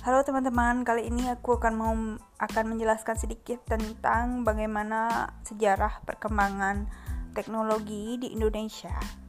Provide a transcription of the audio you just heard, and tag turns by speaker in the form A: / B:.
A: Halo teman-teman, kali ini aku akan menjelaskan sedikit tentang bagaimana sejarah perkembangan teknologi di Indonesia.